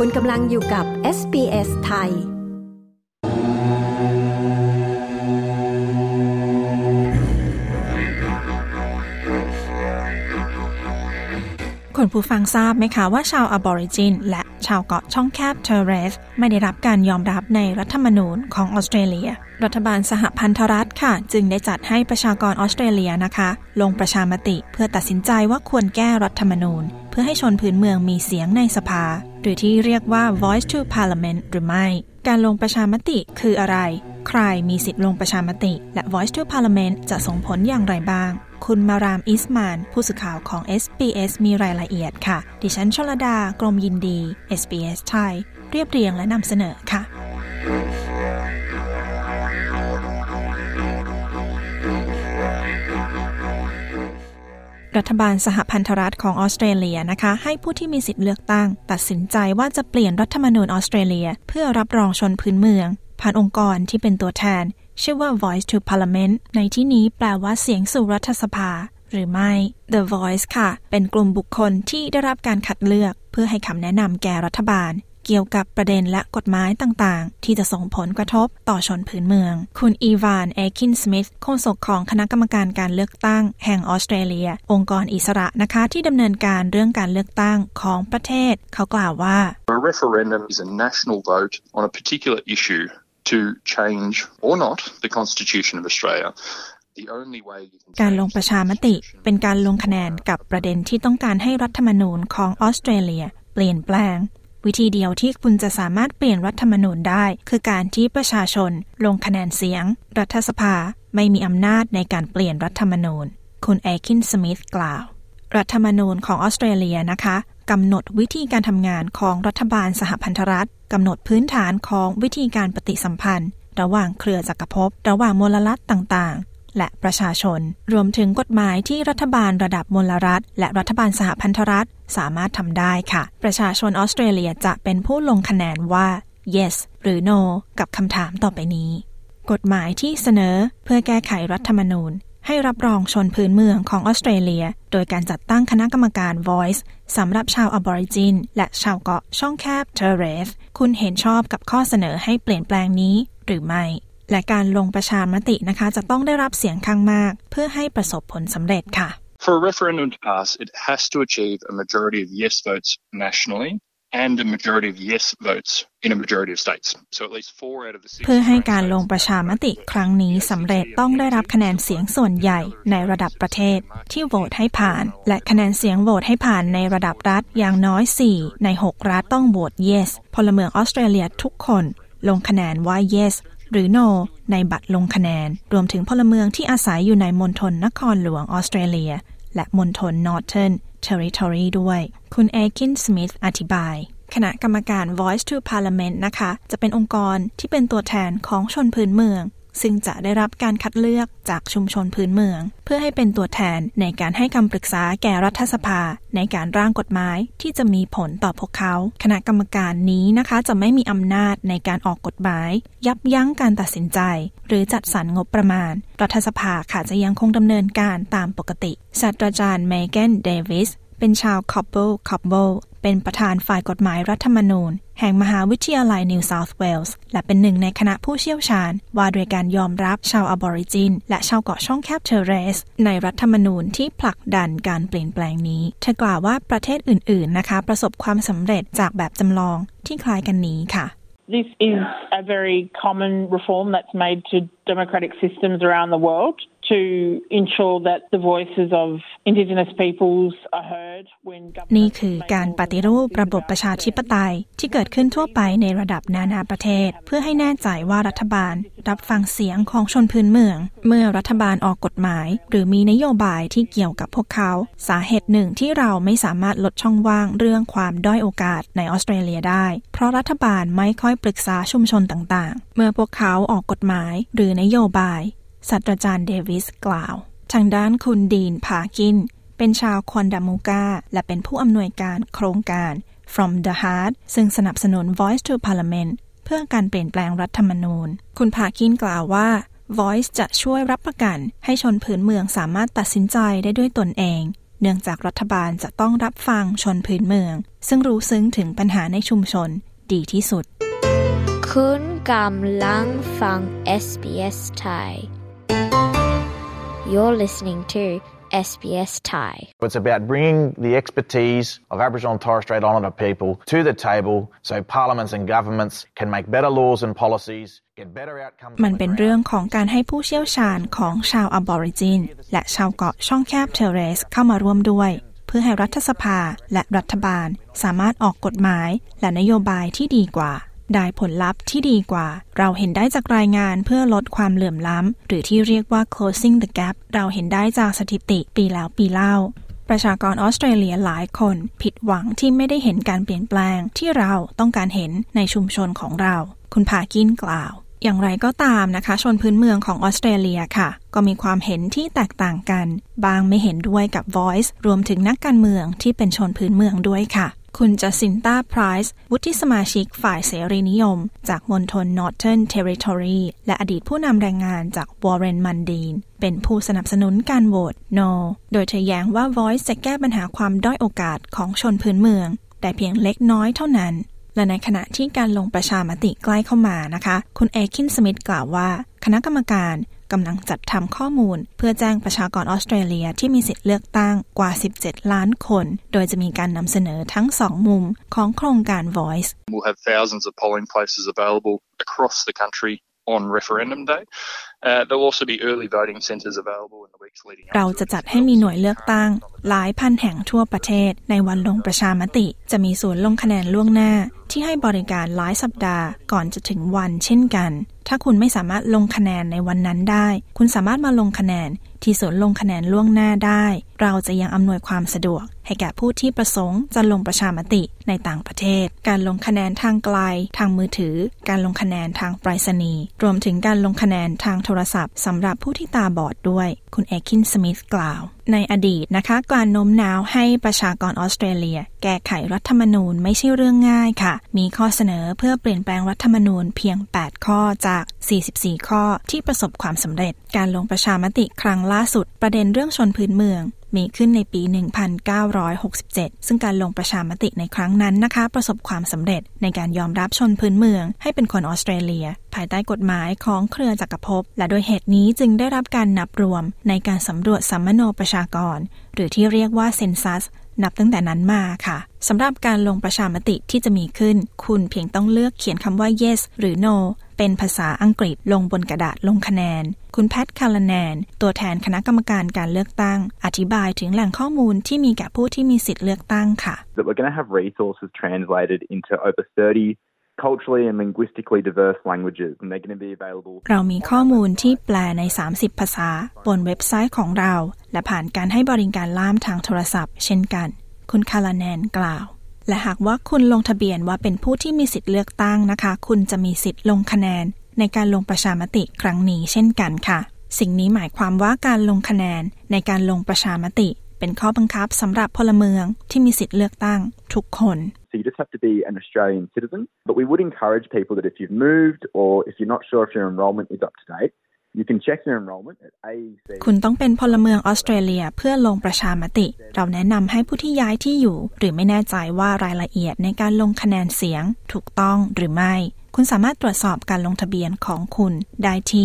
คุณกำลังอยู่กับ SBS ไทยคุณผู้ฟังทราบไหมคะว่าชาวอบอริจินและชาวเกาะช่องแคบเทอร์เรสไม่ได้รับการยอมรับในรัฐธรรมนูญของออสเตรเลียรัฐบาลสหพันธรัฐค่ะจึงได้จัดให้ประชากรออสเตรเลียนะคะลงประชามติเพื่อตัดสินใจว่าควรแก้รัฐธรรมนูญเพื่อให้ชนพื้นเมืองมีเสียงในสภาหรือที่เรียกว่า Voice to Parliament หรือไม่การลงประชามติคืออะไรใครมีสิทธิ์ลงประชามติและ Voice to Parliament จะส่งผลอย่างไรบ้างคุณมารามอิสมานผู้สื่อข่าวของ SBS มีรายละเอียดค่ะดิฉันชลดากรมยินดี SBS ไทยเรียบเรียงและนำเสนอค่ะรัฐบาลสหพันธรัฐของออสเตรเลียนะคะให้ผู้ที่มีสิทธิ์เลือกตั้งตัดสินใจว่าจะเปลี่ยนรัฐธรรมนูญออสเตรเลียเพื่อรับรองชนพื้นเมืองผ่านองค์กรที่เป็นตัวแทนชื่อว่า Voice to Parliament ในที่นี้แปลว่าเสียงสู่รัฐสภาหรือไม่ The Voice ค่ะเป็นกลุ่มบุคคลที่ได้รับการคัดเลือกเพื่อให้คำแนะนำแก่รัฐบาลเกี่ยวกับประเด็นและกฎหมายต่างๆที่จะส่งผลกระทบต่อชนพื้นเมืองคุณอีวานเอคินสมิธโฆษกของคณะกรรมการการเลือกตั้งแห่งออสเตรเลียองค์กรอิสระนะคะที่ดำเนินการเรื่องการเลือกตั้งของประเทศเขากล่าวว่า A referendum is a national vote on a particular issue to change or not the Constitution of Australiaการลงประชามติเป็นการลงคะแนนกับประเด็นที่ต้องการให้รัฐธรรมนูญของออสเตรเลียเปลี่ยนแปลงวิธีเดียวที่คุณจะสามารถเปลี่ยนรัฐธรรมนูญได้คือการที่ประชาชนลงคะแนนเสียงรัฐสภาไม่มีอำนาจในการเปลี่ยนรัฐธรรมนูญคุณเอคินสมิธกล่าวรัฐธรรมนูญของออสเตรเลียนะคะกำหนดวิธีการทำงานของรัฐบาลสหพันธรัฐกำหนดพื้นฐานของวิธีการปฏิสัมพันธ์ระหว่างเครือจักรภพระหว่างมลรัฐต่างๆและประชาชนรวมถึงกฎหมายที่รัฐบาลระดับมลรัฐและรัฐบาลสหพันธรัฐสามารถทำได้ค่ะประชาชนออสเตรเลียจะเป็นผู้ลงคะแนนว่า yes หรือ no กับคำถามต่อไปนี้กฎหมายที่เสนอเพื่อแก้ไขรัฐธรรมนูญให้รับรองชนพื้นเมืองของออสเตรเลียโดยการจัดตั้งคณะกรรมการ Voice สำหรับชาวอบอริจินและชาวเกาะช่องแคบเทอร์เรสคุณเห็นชอบกับข้อเสนอให้เปลี่ยนแปลงนี้หรือไม่และการลงประชามตินะคะจะต้องได้รับเสียงข้างมากเพื่อให้ประสบผลสำเร็จค่ะ For a referendum to pass, it has to achieve a majority of yes votes nationally and a majority of yes votes in a majority of states. So at least 4 out of the 6 เพื่อให้การลงประชามติครั้งนี้สำเร็จต้องได้รับคะแนนเสียงส่วนใหญ่ในระดับประเทศที่โหวตให้ผ่านและคะแนนเสียงโหวตให้ผ่านในระดับรัฐอย่างน้อย4ใน6รัฐต้องโหวต yes พลเมืองออสเตรเลียทุกคนลงคะแนนว่า yes หรือ no ในบัตรลงคะแนนรวมถึงพลเมืองที่อาศัยอยู่ในมณฑลนครหลวงออสเตรเลียและมณฑล Northern Territory ด้วยคุณเอคินสมิธอธิบายคณะกรรมการ Voice to Parliament นะคะจะเป็นองค์กรที่เป็นตัวแทนของชนพื้นเมืองซึ่งจะได้รับการคัดเลือกจากชุมชนพื้นเมืองเพื่อให้เป็นตัวแทนในการให้คำปรึกษาแก่รัฐสภาในการร่างกฎหมายที่จะมีผลต่อพวกเขาคณะกรรมการนี้นะคะจะไม่มีอำนาจในการออกกฎหมายยับยั้งการตัดสินใจหรือจัดสรรงบประมาณรัฐสภาค่ะจะยังคงดำเนินการตามปกติศาสตราจารย์เมแกนเดวิสเป็นชาวคอบเบิลเป็นประธานฝ่ายกฎหมายรัฐธรรมนูญแห่งมหาวิทยาลัยนิวเซาท์เวลส์และเป็นหนึ่งในคณะผู้เชี่ยวชาญว่าโดยการยอมรับชาวอบอริจินและชาวเกาะช่องแคบเทอร์เรสในรัฐธรรมนูญที่ผลักดันการเปลี่ยนแปลงนี้เธอกล่าวว่าประเทศอื่นๆนะคะประสบความสำเร็จจากแบบจำลองที่คล้ายกันนี้ค่ะ This is a very common reform that's made to democratic systems around the world to ensure that the voices of Indigenous peoples are heard when นี่คือการปฏิรูประบบประชาธิปไตยที่เกิดขึ้นทั่วไปในระดับนานาประเทศเพื่อให้แน่ใจว่ารัฐบาลรับฟังเสียงของชนพื้นเมืองเมื่อรัฐบาลออกกฎหมายหรือมีนโยบายที่เกี่ยวกับพวกเขาสาเหตุหนึ่งที่เราไม่สามารถลดช่องว่างเรื่องความด้อยโอกาสในออสเตรเลียได้เพราะรัฐบาลไม่ค่อยปรึกษาชุมชนต่างๆเมื่อพวกเขาออกกฎหมายหรือนโยบายศาสตราจารย์เดวิสกล่าวทางด้านคุณดีนพากินเป็นชาวคอนดามูกาและเป็นผู้อำนวยการโครงการ From the Heart ซึ่งสนับสนุน Voice to Parliament เพื่อการเปลี่ยนแปลงรัฐธรรมนูญคุณพากินกล่าวว่า Voice จะช่วยรับประกันให้ชนพื้นเมืองสามารถตัดสินใจได้ด้วยตนเองเนื่องจากรัฐบาลจะต้องรับฟังชนพื้นเมืองซึ่งรู้ซึ้งถึงปัญหาในชุมชนดีที่สุดคุณกำลังฟัง SBS Thai You're listening to SBS Thai. It's about bringing the expertise of Aboriginal and Torres Strait Islander people to the table so parliaments and governments can make better laws and policies, get better outcomes. มันเป็นเรื่องของการให้ผู้เชี่ยวชาญของชาว Aborigine และชาวเกาะช่องแคบเทเรสเข้ามาร่วมด้วยเพื่อให้รัฐสภาและรัฐบาลสามารถออกกฎหมายและนโยบายที่ดีกว่าได้ผลลัพธ์ที่ดีกว่าเราเห็นได้จากรายงานเพื่อลดความเหลื่อมล้ำหรือที่เรียกว่า closing the gap เราเห็นได้จากสถิติปีแล้วปีเล่าประชากรออสเตรเลียหลายคนผิดหวังที่ไม่ได้เห็นการเปลี่ยนแปลงที่เราต้องการเห็นในชุมชนของเราคุณพากินกล่าวอย่างไรก็ตามนะคะชนพื้นเมืองของออสเตรเลียค่ะก็มีความเห็นที่แตกต่างกันบางไม่เห็นด้วยกับ Voice รวมถึงนักการเมืองที่เป็นชนพื้นเมืองด้วยค่ะคุณจัสซินตาไพรส์วุฒิสมาชิกฝ่ายเสรีนิยมจากมณฑล Northern Territory และอดีตผู้นำแรงงานจาก Warren Mundine เป็นผู้สนับสนุนการโหวต No โดยเธอแย้งว่า Voice จะแก้ปัญหาความด้อยโอกาสของชนพื้นเมืองแต่เพียงเล็กน้อยเท่านั้นและในขณะที่การลงประชามติใกล้เข้ามานะคะคุณเอคินสมิธกล่าวว่าคณะกรรมการกำลังจัดทำข้อมูลเพื่อแจ้งประชากรออสเตรเลียที่มีสิทธิ์เลือกตั้งกว่า17ล้านคนโดยจะมีการนำเสนอทั้ง2มุมของโครงการ Voice We'll have thousands of polling places available across the country on referendum day. There'll also be early voting centres available in the weeks leading up. เราจะจัดให้มีหน่วยเลือกตั้งหลายพันแห่งทั่วประเทศในวันลงประชามติจะมีศูนย์ลงคะแนนล่วงหน้าที่ให้บริการหลายสัปดาห์ก่อนจะถึงวันเช่นกันถ้าคุณไม่สามารถลงคะแนนในวันนั้นได้คุณสามารถมาลงคะแนนที่ศูนย์ลงคะแนนล่วงหน้าได้เราจะยังอำนวยความสะดวกให้แก่ผู้ที่ประสงค์จะลงประชามติในต่างประเทศการลงคะแนนทางไกลทางมือถือการลงคะแนนทางไปรษณีย์รวมถึงการลงคะแนนทางโทรศัพท์สำหรับผู้ที่ตาบอดด้วยคุณเอคินสมิธกล่าวในอดีตนะคะการโน้มน้าวให้ประชากรออสเตรเลียแก้ไขรัฐธรรมนูญไม่ใช่เรื่องง่ายค่ะมีข้อเสนอเพื่อเปลี่ยนแปลงรัฐธรรมนูญเพียง8ข้อจาก44ข้อที่ประสบความสำเร็จการลงประชามติครั้งล่าสุดประเด็นเรื่องชนพื้นเมืองมีขึ้นในปี 1967 ซึ่งการลงประชามติในครั้งนั้นนะคะประสบความสำเร็จในการยอมรับชนพื้นเมืองให้เป็นคนออสเตรเลียภายใต้กฎหมายของเครือจักรภพและโดยเหตุนี้จึงได้รับการนับรวมในการสำรวจสัมมโนประชากรหรือที่เรียกว่าเซนซัสนับตั้งแต่นั้นมาค่ะสำหรับการลงประชามติที่จะมีขึ้นคุณเพียงต้องเลือกเขียนคำว่า yes หรือ no เป็นภาษาอังกฤษลงบนกระดาษลงคะแนนคุณแพทคาร์ลแนนตัวแทนคณะกรรมการการเลือกตั้งอธิบายถึงแหล่งข้อมูลที่มีแก่ผู้ที่มีสิทธิ์เลือกตั้งค่ะ That we're going to have resources translated into over 30 culturally and linguistically diverse languages and they're going to be available เรามีข้อมูลที่แปลใน30ภาษาบนเว็บไซต์ของเราและผ่านการให้บริการล่ามทางโทรศัพท์เช่นกันคุณคาร์ลแนนกล่าวและหากว่าคุณลงทะเบียนว่าเป็นผู้ที่มีสิทธิ์เลือกตั้งนะคะคุณจะมีสิทธิ์ลงคะแนนในการลงประชามติครั้งนี้เช่นกันค่ะสิ่งนี้หมายความว่าการลงคะแนนในการลงประชามติเป็นข้อบังคับสำหรับพลเมืองที่มีสิทธิ์เลือกตั้งทุกคน So you just have to be an Australian citizen, but we would encourage people that if you've moved or if you're not sure if your enrolment is up to date, you can check your enrolment at AEC. คุณต้องเป็นพลเมืองออสเตรเลียเพื่อลงประชามติเราแนะนำให้ผู้ที่ย้ายที่อยู่หรือไม่แน่ใจว่ารายละเอียดในการลงคะแนนเสียงถูกต้องหรือไม่คุณสามารถตรวจสอบการลงทะเบียนของคุณได้ที่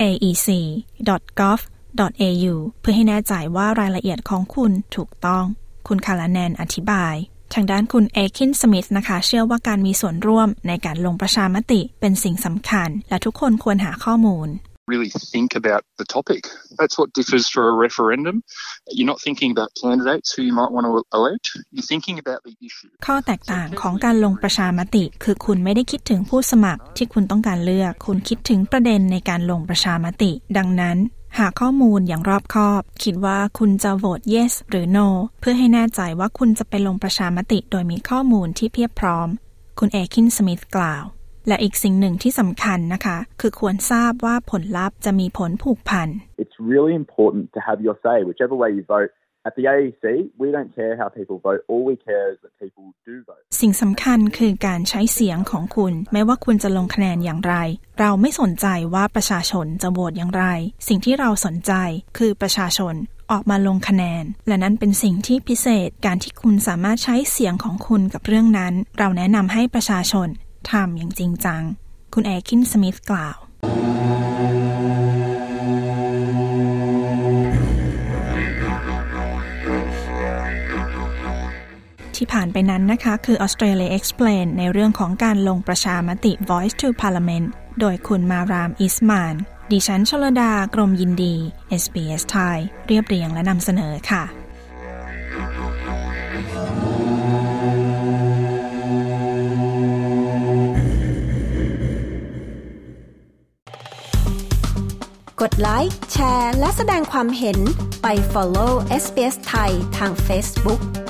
aec.gov.au เพื่อให้แน่ใจว่ารายละเอียดของคุณถูกต้องคุณคาร์ลแนนอธิบายทางด้านคุณเอคินสมิธนะคะเชื่อว่าการมีส่วนร่วมในการลงประชามติเป็นสิ่งสำคัญและทุกคนควรหาข้อมูล really think about the topic. That's what differs for a referendum. You're not thinking about candidates who you might want to elect. You're thinking about the issue. ข้อแตกต่างของการลงประชามติคือคุณไม่ได้คิดถึงผู้สมัครที่คุณต้องการเลือกคุณคิดถึงประเด็นในการลงประชามติดังนั้นหาข้อมูลอย่างรอบคอบคิดว่าคุณจะโหวต yes หรือ no เพื่อให้แน่ใจว่าคุณจะไปลงประชามติโดยมีข้อมูลที่เพียบพร้อมคุณเอคินสมิธกล่าวและอีกสิ่งหนึ่งที่สำคัญนะคะคือควรทราบว่าผลลัพธ์จะมีผลผูกพัน It's really important to have your say whichever way you vote. At the AEC, we don't care how people vote. All we care is that people do vote. สิ่งสำคัญคือการใช้เสียงของคุณไม่ว่าคุณจะลงคะแนนอย่างไรเราไม่สนใจว่าประชาชนจะโหวตอย่างไรสิ่งที่เราสนใจคือประชาชนออกมาลงคะแนนและนั่นเป็นสิ่งที่พิเศษการที่คุณสามารถใช้เสียงของคุณกับเรื่องนั้นเราแนะนำให้ประชาชนทำอย่างจริงจังคุณแอคินสมิธกล่าวที่ผ่านไปนั้นนะคะคือ Australia Explain ในเรื่องของการลงประชามติ Voice to Parliament โดยคุณมารามอิสมานดิฉันชลดากรมยินดี SBS ไทยเรียบเรียงและนำเสนอค่ะกดไลค์แชร์และแสดงความเห็นไป follow SBS ไทยทาง Facebook